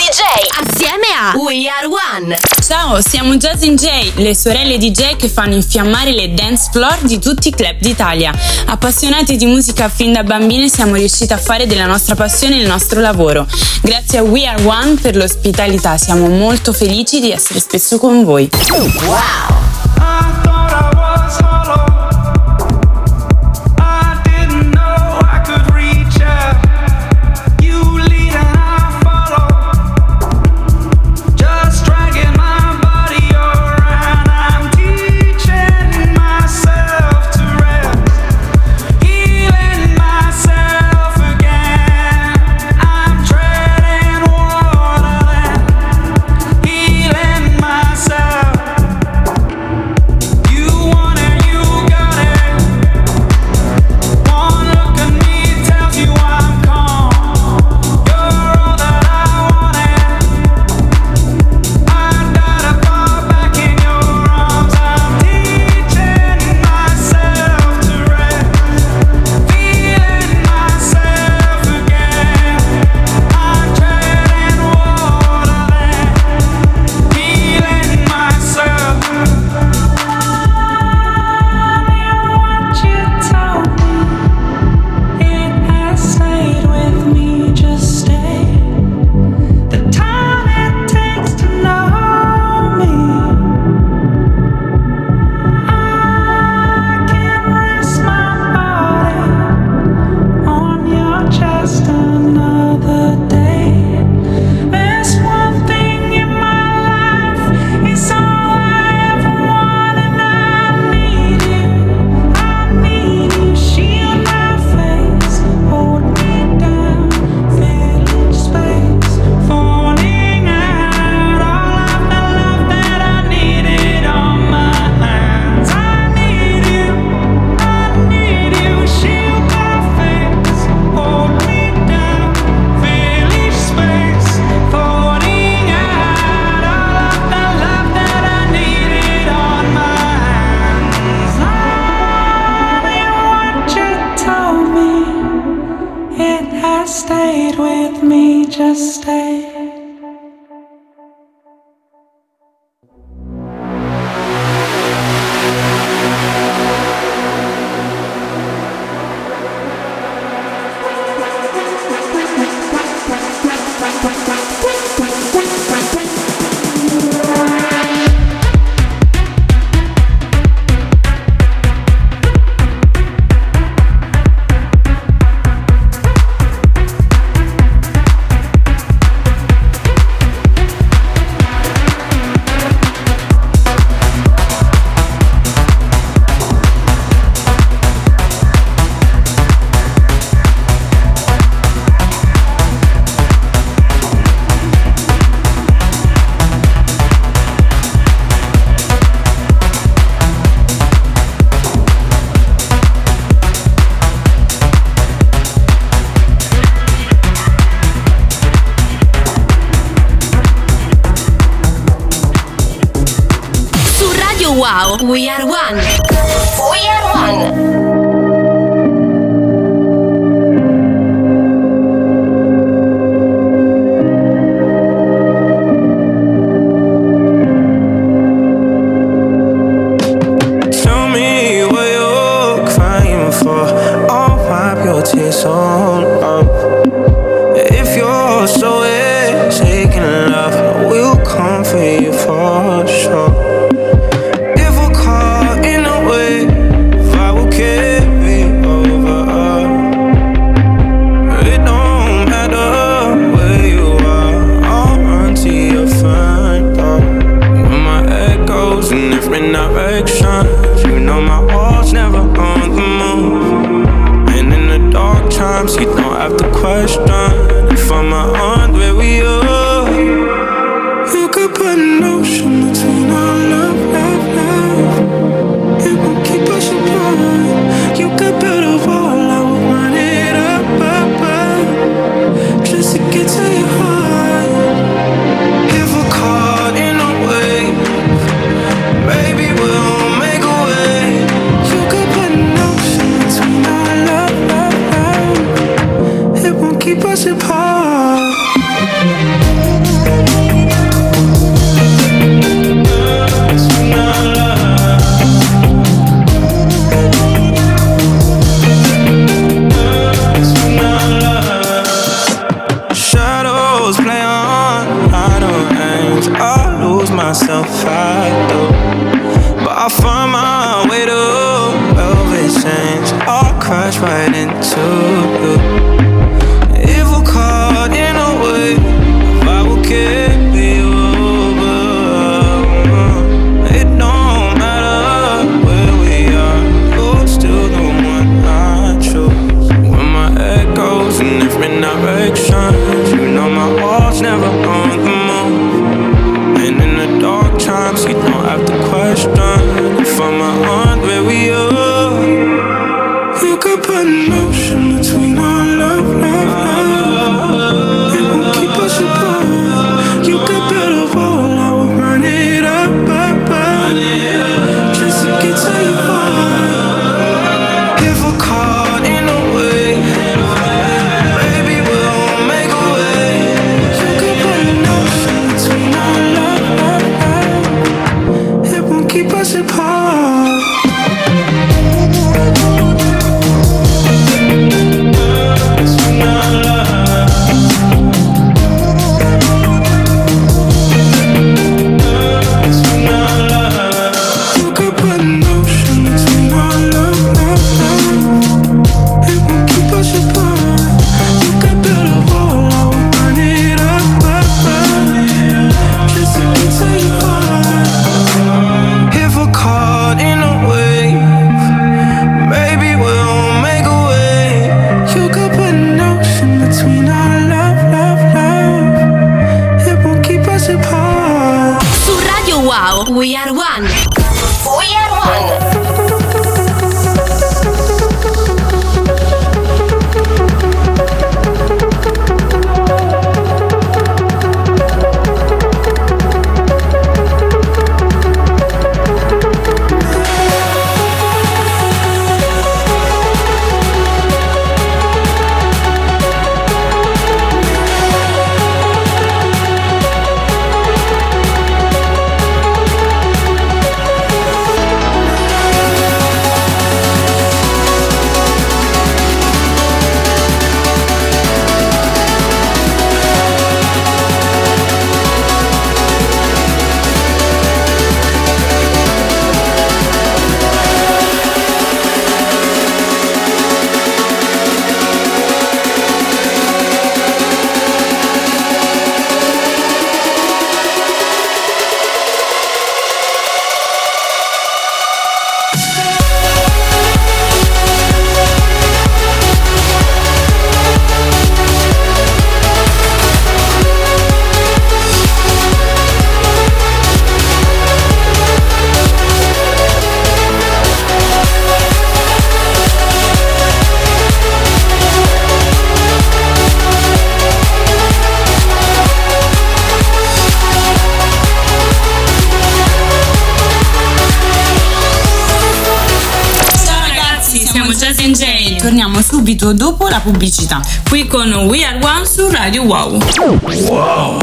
DJ assieme a We Are One. Ciao, siamo Jazzy J, le sorelle DJ che fanno infiammare le dance floor di tutti i club d'Italia. Appassionati di musica fin da bambine siamo riusciti a fare della nostra passione il nostro lavoro. Grazie a We Are One per l'ospitalità, siamo molto felici di essere spesso con voi. Wow! Wow, We Are One. We Are One. Keep us apart. oceans. You know my heart's never on the move. And in the dark times, you don't have to question if I'm on where we are. You could put an ocean between our love, love, love. It won't keep us apart. You could build a wall, I will run it up, up, up, just to get to your heart. If we're caught in a wave, maybe we'll make a way. You could put an ocean between our love, love, love. It won't keep us apart. We are one. We are one. Torniamo subito dopo la pubblicità, qui con We Are One su Radio Wow. Wow.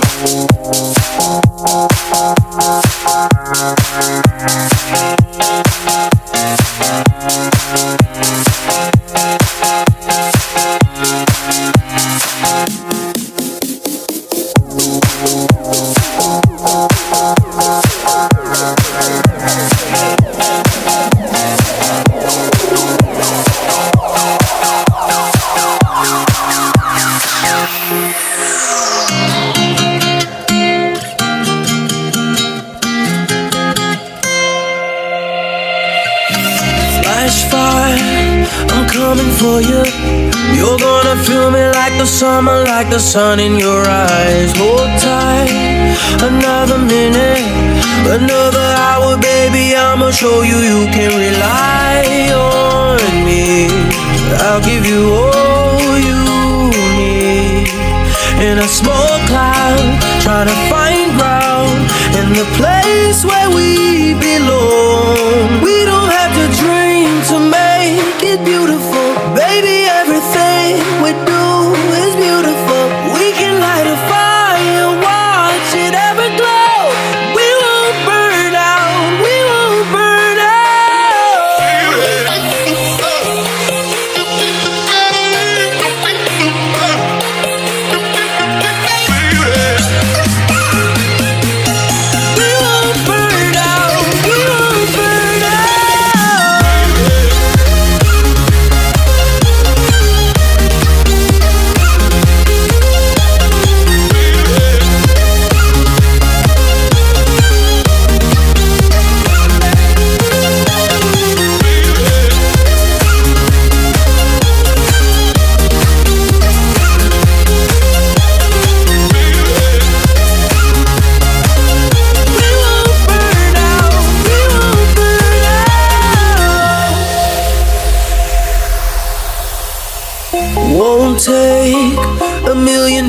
Summer like the sun in your eyes. Hold tight, another minute, another hour, baby. I'ma show you you can rely on me. I'll give you all you need. In a small cloud, trying to find ground in the place where we belong. We don't have to dream to make it beautiful, baby. Everything we do is beautiful. We can light a fire, watch it ever glow. We won't burn out, we won't burn out. We won't burn out, we won't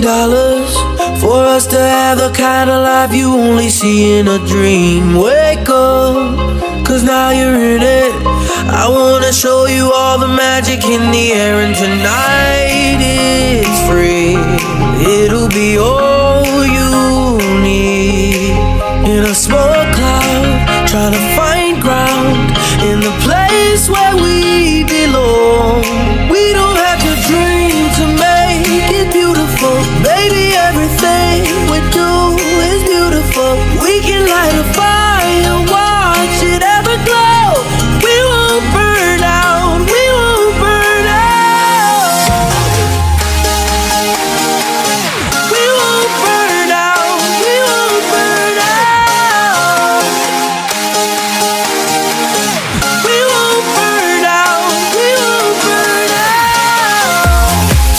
$1 million for us to have the kind of life you only see in a dream. Wake up, cause now you're in it. I wanna show you all the magic in the air, and tonight it's free. It'll be all you need. In a small cloud, trying to find ground in the place where we belong. We don't have to dream to make it beautiful. Baby, everything we do is beautiful. We can light a fire, watch it ever glow. We won't burn out, we won't burn out. We won't burn out, we won't burn out. We won't burn out, we won't burn out.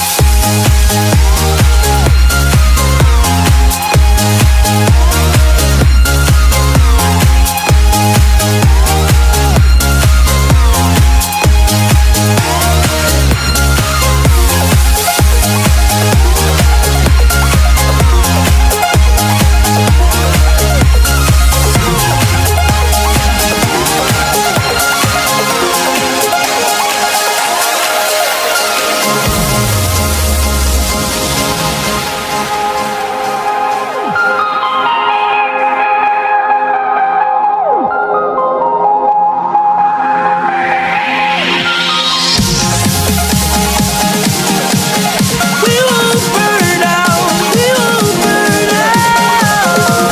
We won't burn out, we won't burn out.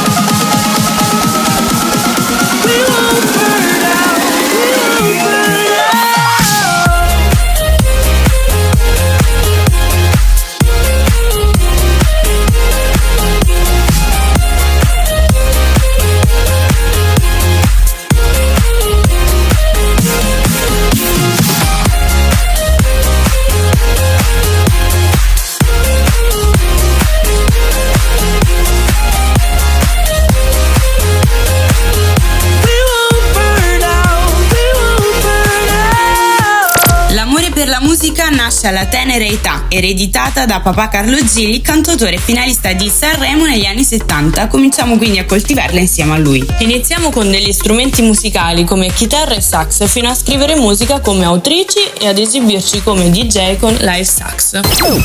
We won't burn out, we won't burn L'amore per la musica nasce alla tenera età, ereditata da papà Carlo Gilli, cantautore finalista di Sanremo negli anni 70. Cominciamo quindi a coltivarla insieme a lui. Iniziamo con degli strumenti musicali come chitarra e sax, fino a scrivere musica come autrici e ad esibirci come DJ con live sax.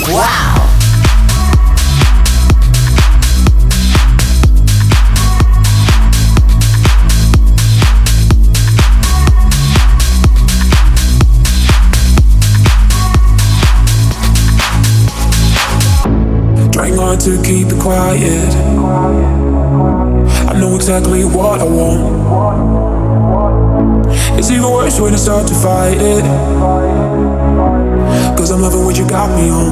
Trying hard to keep it quiet. I know exactly what I want. It's even worse when I start to fight it. Cause I'm loving what you got me on.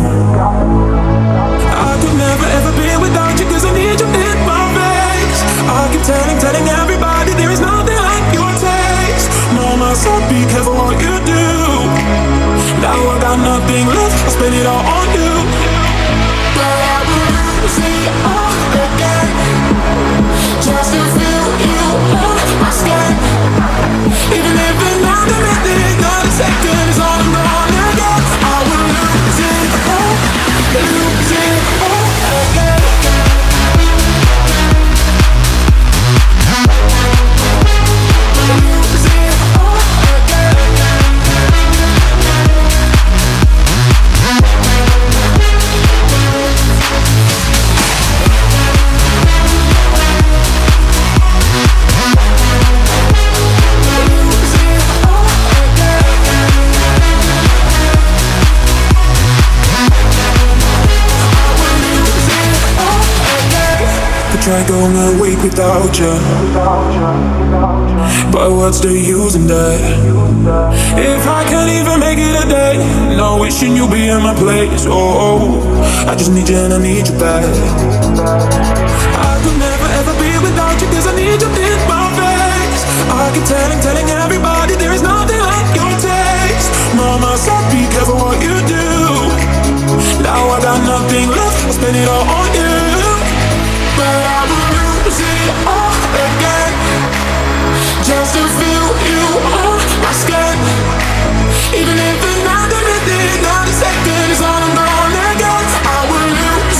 I could never ever be without you, cause I need you in my face. I keep telling everybody there is nothing like your taste. Mama said be careful what you do. Now I got nothing left, I spend it all on you. But I will lose it all again, just to feel you on my skin. Even if another minute, not a second is all I'm gonna get. I will lose it all again. Lose it all again. Try going a week without you, but what's the use in that? If I can't even make it a day, no wishing you'd be in my place. Oh, I just need you and I need you back. I could never ever be without you, cause I need you in my face. I keep telling everybody there is nothing like your taste. Mama said be careful what you do. Now I got nothing left, I spend it all on you. But I will lose it all again, just to feel you on my skin. Even if another minute, not a second is all I'm gonna get. I will lose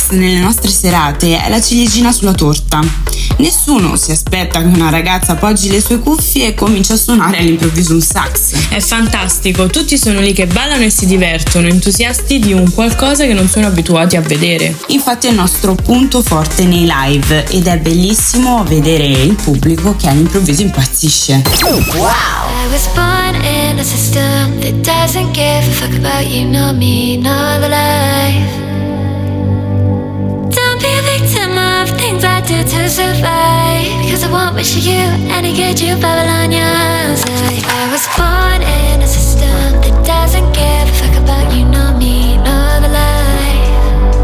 sax nelle nostre serate è la ciliegina sulla torta. Nessuno si aspetta che una ragazza appoggi le sue cuffie e cominci a suonare all'improvviso un sax. È fantastico, tutti sono lì che ballano e si divertono, entusiasti di un qualcosa che non sono abituati a vedere. Infatti è il nostro punto forte nei live ed è bellissimo vedere il pubblico che all'improvviso impazzisce. I was born in a system that doesn't give a fuck about you, nor me, nor the life. Don't be a victim of things I do to survive, because I won't wish you any good, you Babylonians. I was born in a system that doesn't give a fuck about you, nor me, nor the life.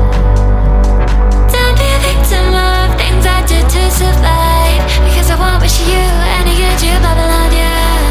Don't be a victim of things I do to survive, because I won't wish you any good, you Babylonians.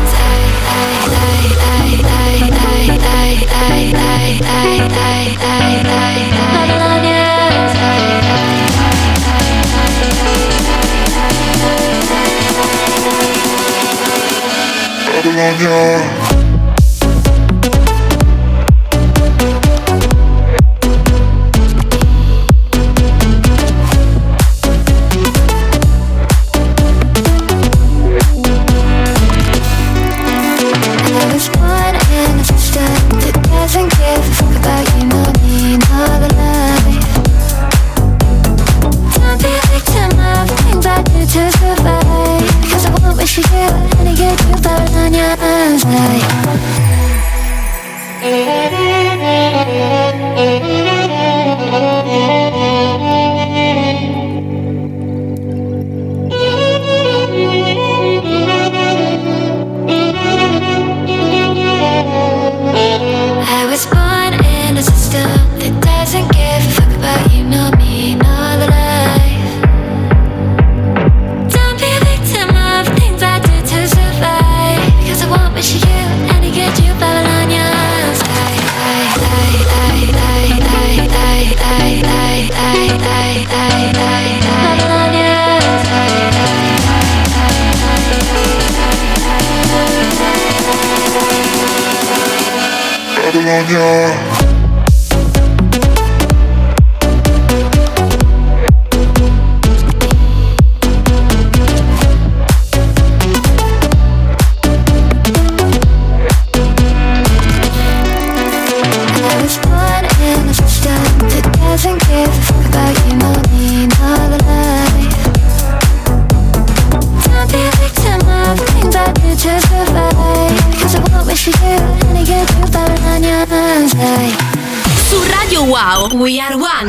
Su Radio Wow, We Are One.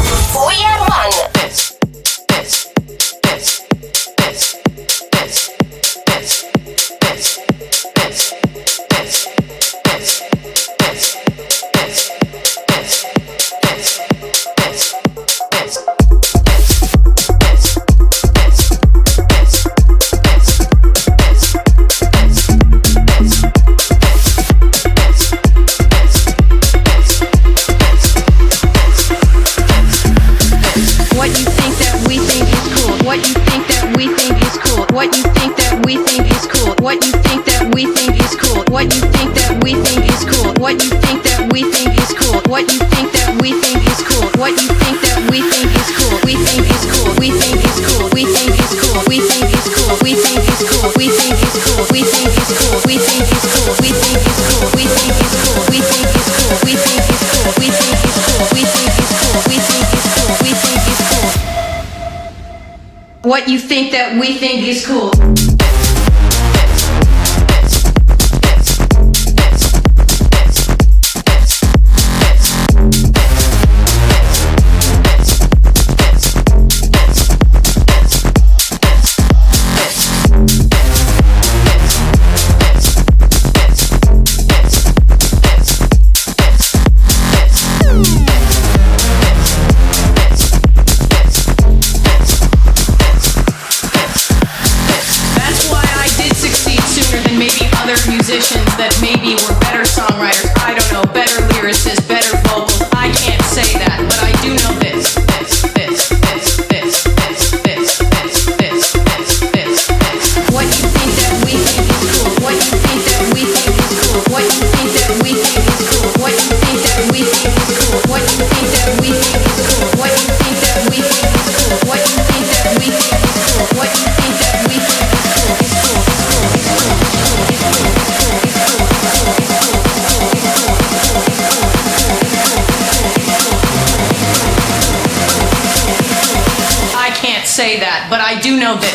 We Are One. What you think that we think is cool. That maybe were better songwriters, I don't know, better lyricists, better vocals. I can't say that, but I do know this. What you think that we think is cool? What you think that we think is cool? What you think that we think is cool? What you think that we think is cool? What you think that we think is cool? What you say that, but I do know this.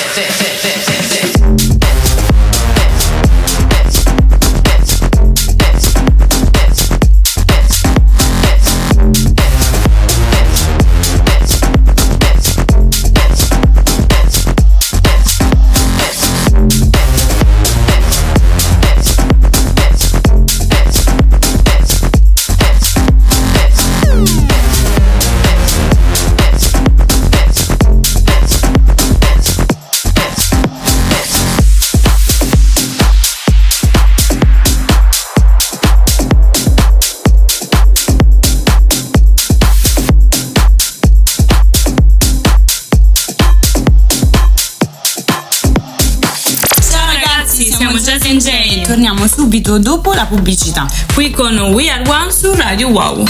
Torniamo subito dopo la pubblicità, qui con We Are One su Radio Wow.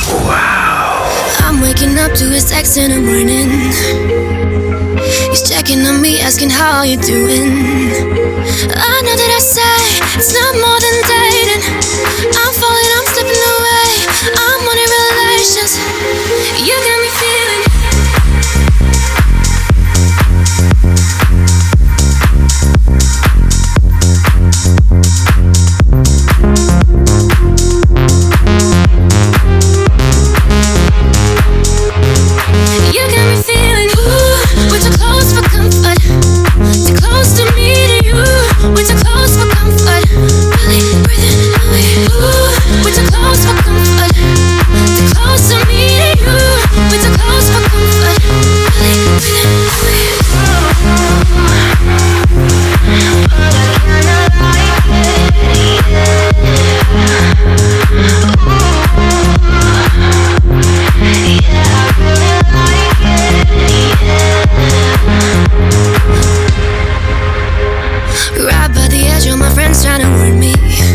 I'm waking up to his text in the morning. He's checking on me, asking how you doing. I know that I say it's not more than dating. I'm falling, I'm slipping away. I'm wanting relations. You got me feeling. You got me feeling, ooh, we're too close for comfort. Too close to me, to you. We're too close for comfort. Really breathing away. Ooh, we're too close for comfort. Too close to me, to you. We're too close for comfort. Really breathing away. Right by the edge, all my friends trying to warn me.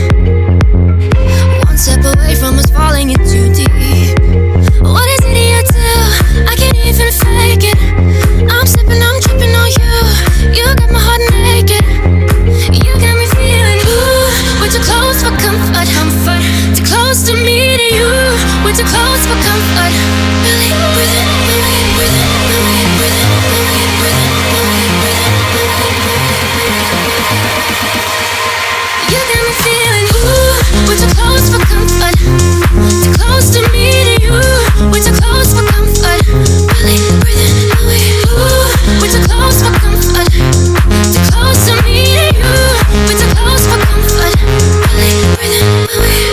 One step away from us falling in too deep. What is it you do? I can't even fake it. I'm slipping, I'm tripping on you. You got my heart naked. You got me feeling, ooh, we're too close for comfort. Too close to me, to you. We're too close for comfort. Really breathing away, breathing away, breathing away, breathing away, you got me feeling, ooh, we're too close for comfort. Too close to me, to you. We're too close for comfort. Really breathing away, ooh, we're too close for comfort. Too close to me, to you. We're too close for comfort. Really breathing away.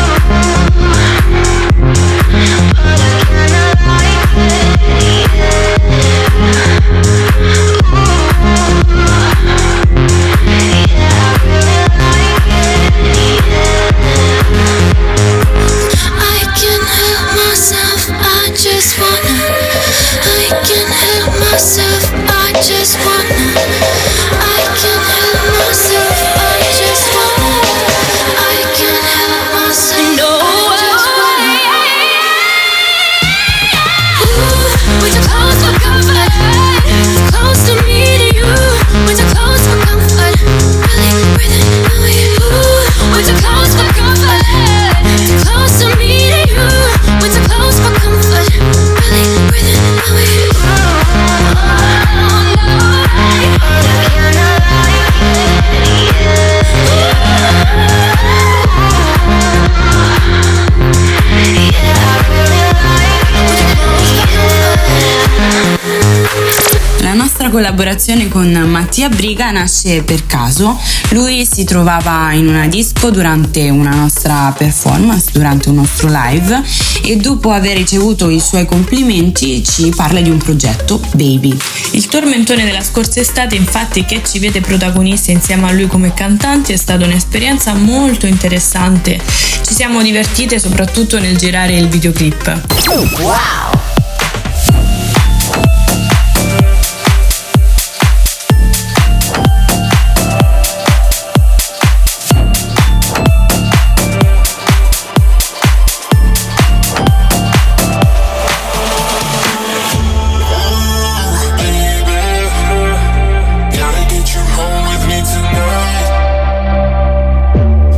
Collaborazione con Mattia Briga nasce per caso. Lui si trovava in una disco durante una nostra performance, durante un nostro live, e dopo aver ricevuto i suoi complimenti ci parla di un progetto, Baby. Il tormentone della scorsa estate, infatti, che ci vede protagonisti insieme a lui come cantanti, è stata un'esperienza molto interessante. Ci siamo divertite soprattutto nel girare il videoclip. Wow!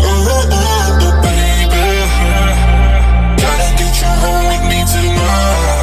Gotta get you home with me tonight.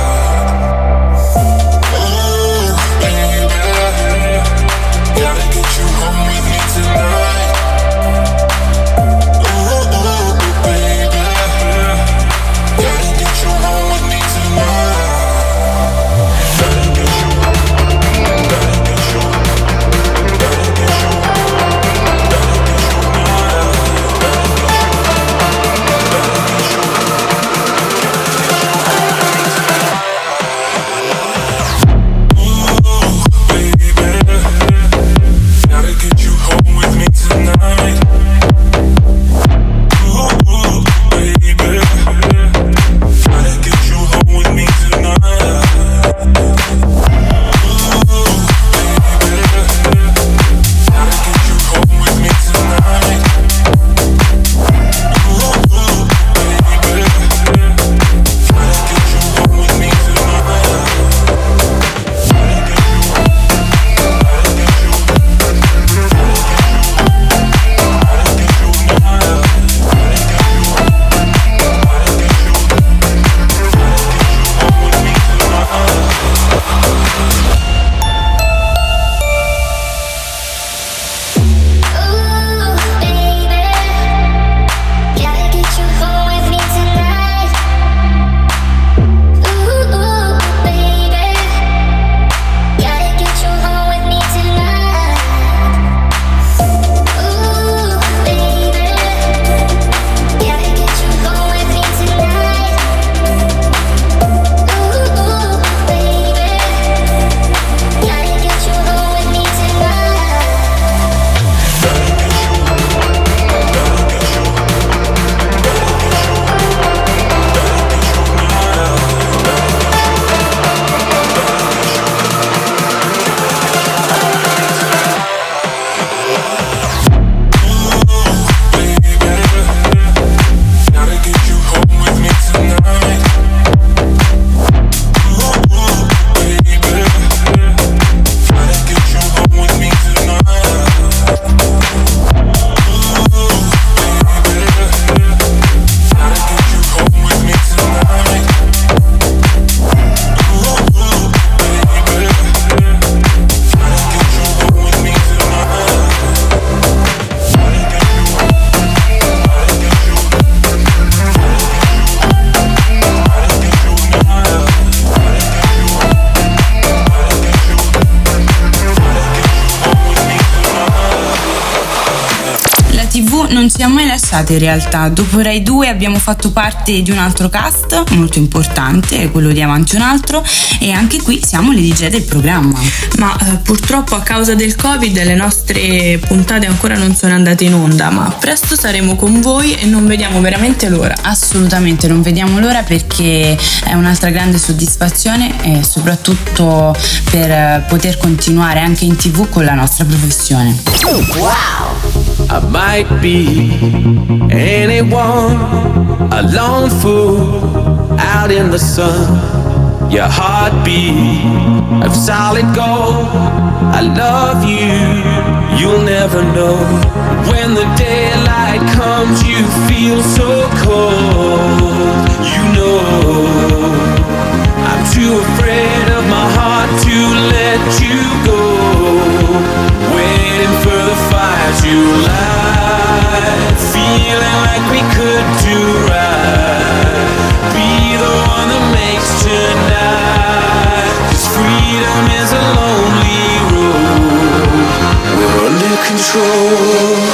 TV non ci ha mai lasciato in realtà. Dopo Rai 2 abbiamo fatto parte di un altro cast molto importante, quello di Avanti un altro, e anche qui siamo le DJ del programma. Ma purtroppo a causa del Covid le nostre puntate ancora non sono andate in onda, ma presto saremo con voi e non vediamo veramente l'ora. Assolutamente non vediamo l'ora, perché è un'altra grande soddisfazione e soprattutto per poter continuare anche in TV con la nostra professione. I might be anyone, a lone fool out in the sun. Your heartbeat of solid gold. I love you, you'll never know. When the daylight comes, you feel so cold. You know, I'm too afraid of my heart to let you go. Waiting for the fire to light, feeling like we could do right. Be the one that makes tonight, 'cause freedom is a lonely road. We're under control.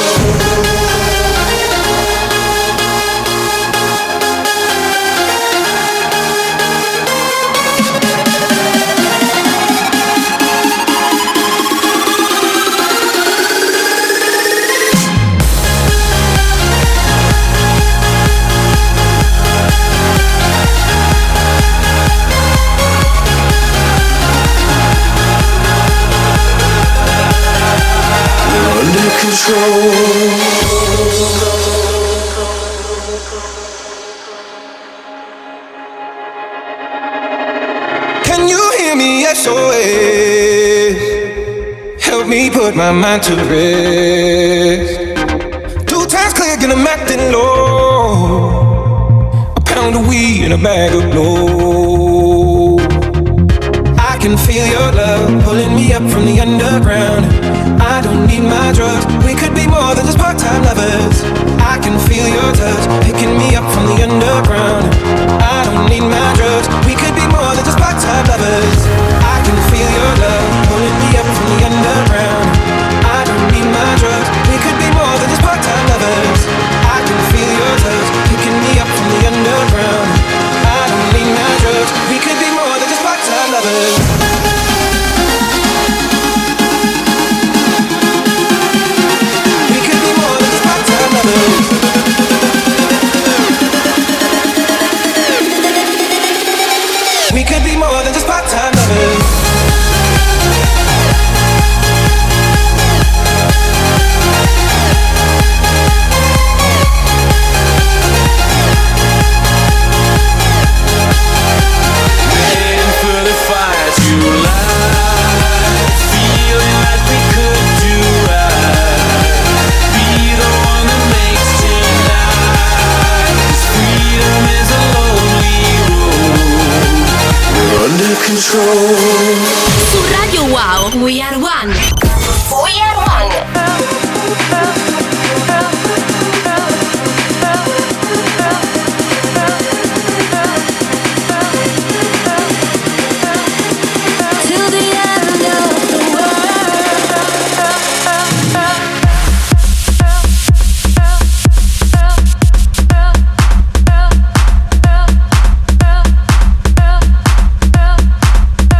Can you hear me? SOS. Help me put my mind to rest. 2 times click and I'm acting low. A pound of weed and a bag of blow. I can feel your love pulling me up from the underground. I don't need my drugs. We could be more than just part-time lovers. I can feel your touch picking me up from the underground. I don't need my drugs. We could be more than just part-time lovers. I can feel your love pulling me up from the underground. I don't need my drugs. We could be more than just part-time lovers. I can feel your touch picking me up from the underground. I don't need my drugs. We could be more than just part-time lovers. We could be more than just part-time lovers. Waiting for the fire to light, feeling like we could do right. Be the one that makes tonight, 'cause freedom is a lonely road. We're under control. Su Radio Wow, We Are One. We Are One. Till the end of the world.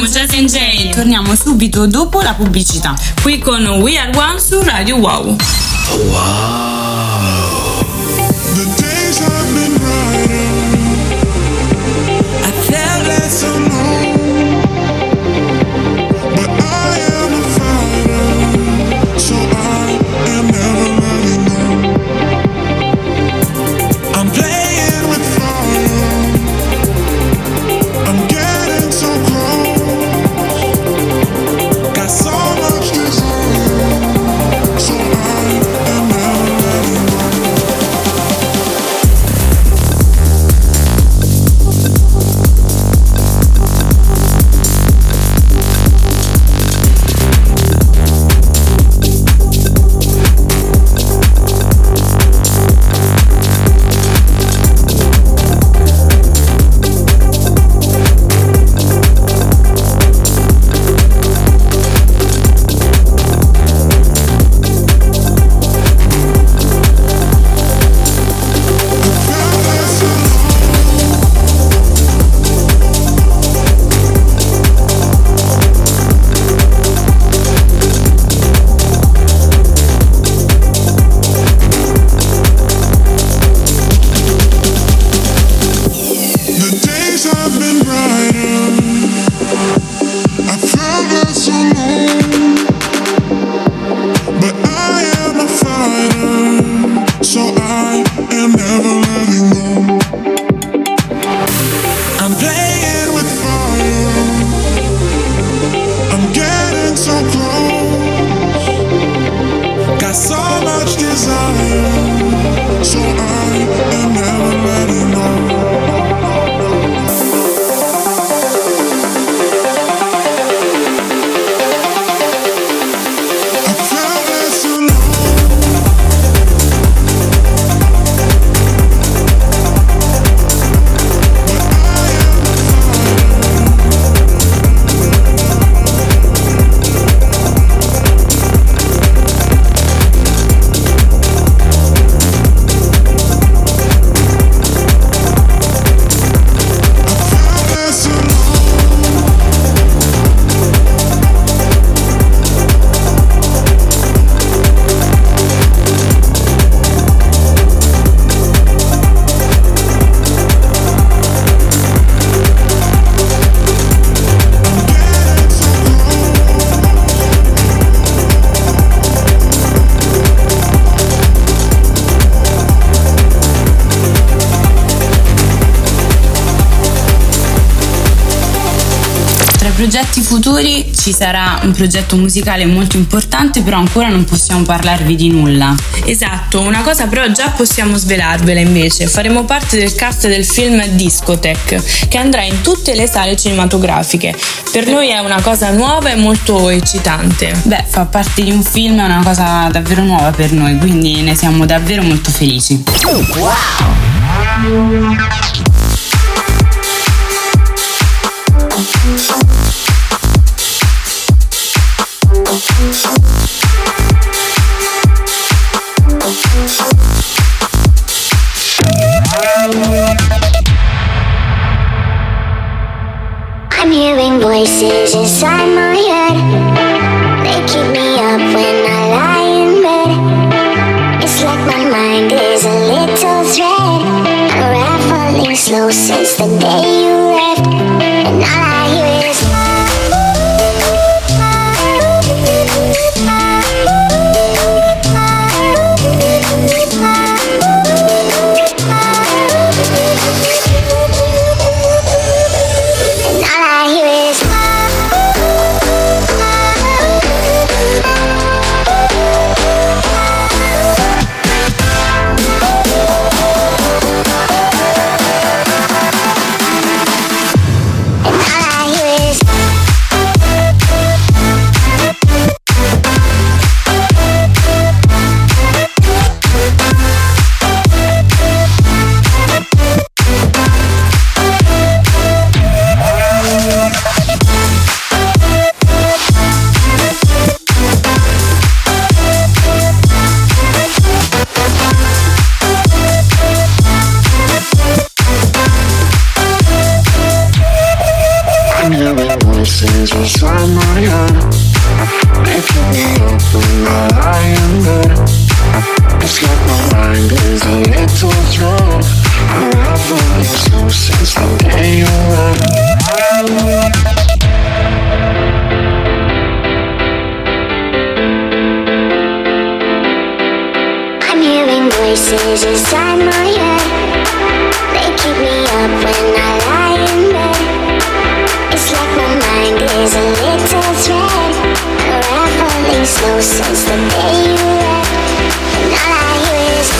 Jazz and Jay, torniamo subito dopo la pubblicità. Qui con We Are One su Radio Wow. The days have been brighter. I felt less alone. But I am a fighter, so I am never letting go. I'm playing with fire. I'm getting so close. Got so much desire, so I am never letting go. Progetti futuri ci sarà un progetto musicale molto importante, però ancora non possiamo parlarvi di nulla. Esatto, una cosa però già possiamo svelarvela invece. Faremo parte del cast del film Discotheque, che andrà in tutte le sale cinematografiche. Per noi è una cosa nuova e molto eccitante. Beh, fa parte di un film, è una cosa davvero nuova per noi, quindi ne siamo davvero molto felici. Wow! I'm hearing voices inside my head. They keep me up when I lie in bed. It's like my mind is a little thread, unraveling slow since the day you left. And all I hear is voices inside my head, making me up when I lie in bed. It's like my mind is a little drunk, unraveling slow since the day you left. I'm hearing voices inside my head, they keep me up when I lie in bed. It's like my mind is a little thread, unraveling slow since the day you left. And all I hear is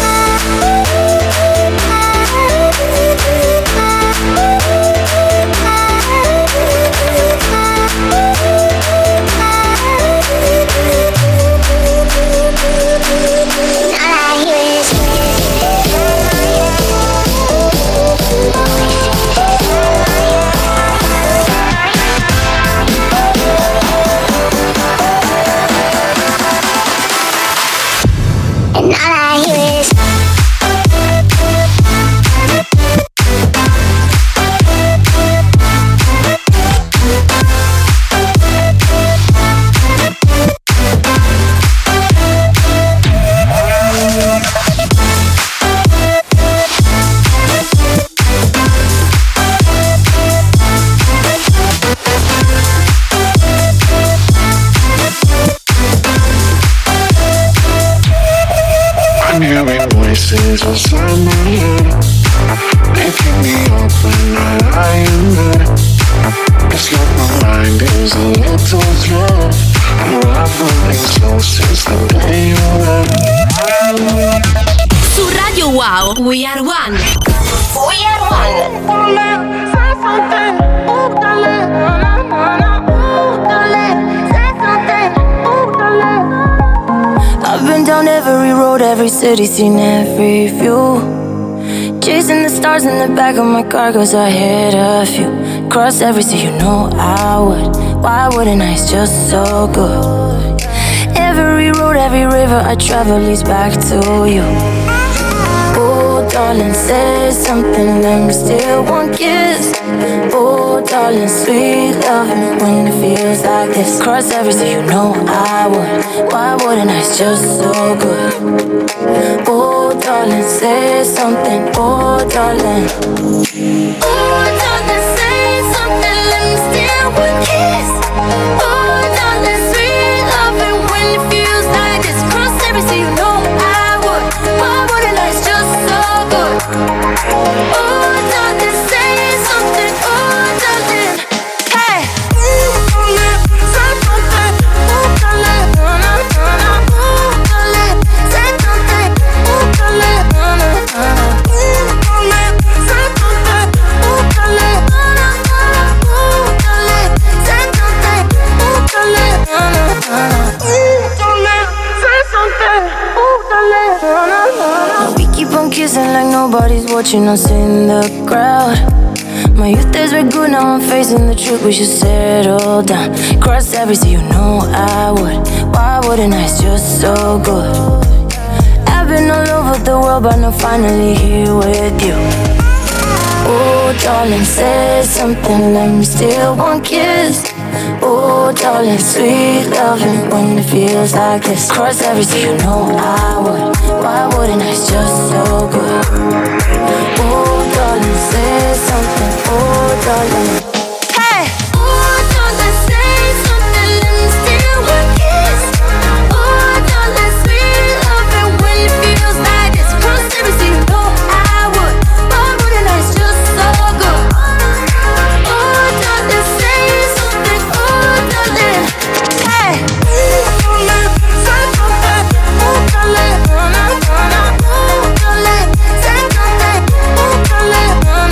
inside my head, making me up when I lie in bed. It's like my mind is a little thread, unraveling slow since the day you left. Su Radio Wow, We Are One. We Are One. I've been down every road, every city, seen every view. Chasing the stars in the back of my car, cause I hit a few. Cross every sea, you know I would. Why wouldn't I? It's just so good. Every road, every river I travel leads back to you. Oh, darling, say something, let me steal one kiss. Oh, darling, sweet loving when it feels like this. Cross every sea, you know I would. Why wouldn't I? It's just so good. Oh, darling, say something. Oh, darling. Oh, darling, say something, let me steal one kiss. Oh, darling, sweet loving when it feels like this. Cross every sea, you know I would. Why wouldn't I? It's just so good. Oh, darling, say something. Oh, darling. Hey. Say something. Oh, darling. Oh, darling. Say something. Oh, darling. Say something. Oh, darling. Say something. Oh, darling. Say something. Oh, darling. We keep on kissing like nobody's watching us in the crowd. My youth days were good, now I'm facing the truth. We should settle down. Cross every sea, you know I would. Why wouldn't I? It's just so good. I've been all over the world, but I'm finally here with you. Oh, darling, say something, let me steal one kiss. Oh, darling, sweet loving when it feels like this. Cross every sea, you know I would. Why wouldn't I? It's just so good. Oh, darling, say something. Oh, darling. Hey! Oh, darling, say something, let me steal one kiss. Oh, darling, sweet loving when it feels like this. Cross every sea, you know I would. Why wouldn't I? It's just so good. Oh, darling, say something. Oh, darling. Hey! Say something. Oh, darling. Oh, darling. Say something. Oh, darling.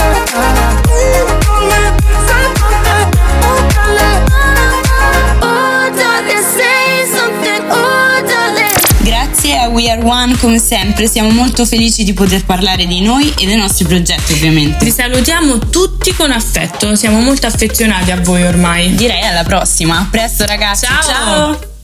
Grazie a We Are One, come sempre siamo molto felici di poter parlare di noi e dei nostri progetti, ovviamente. Vi salutiamo tutti con affetto, siamo molto affezionati a voi ormai. Direi alla prossima, a presto ragazzi, ciao.